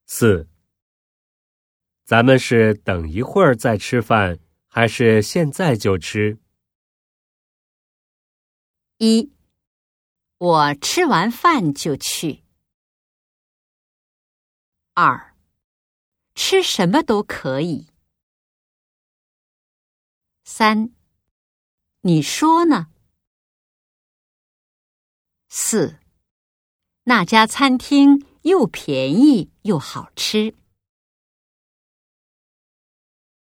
4. 咱们是等一会儿再吃饭，还是现在就吃 ？1. 我吃完饭就去。2. 吃什么都可以。3. 你说呢？4. 那家餐厅又便宜又好吃。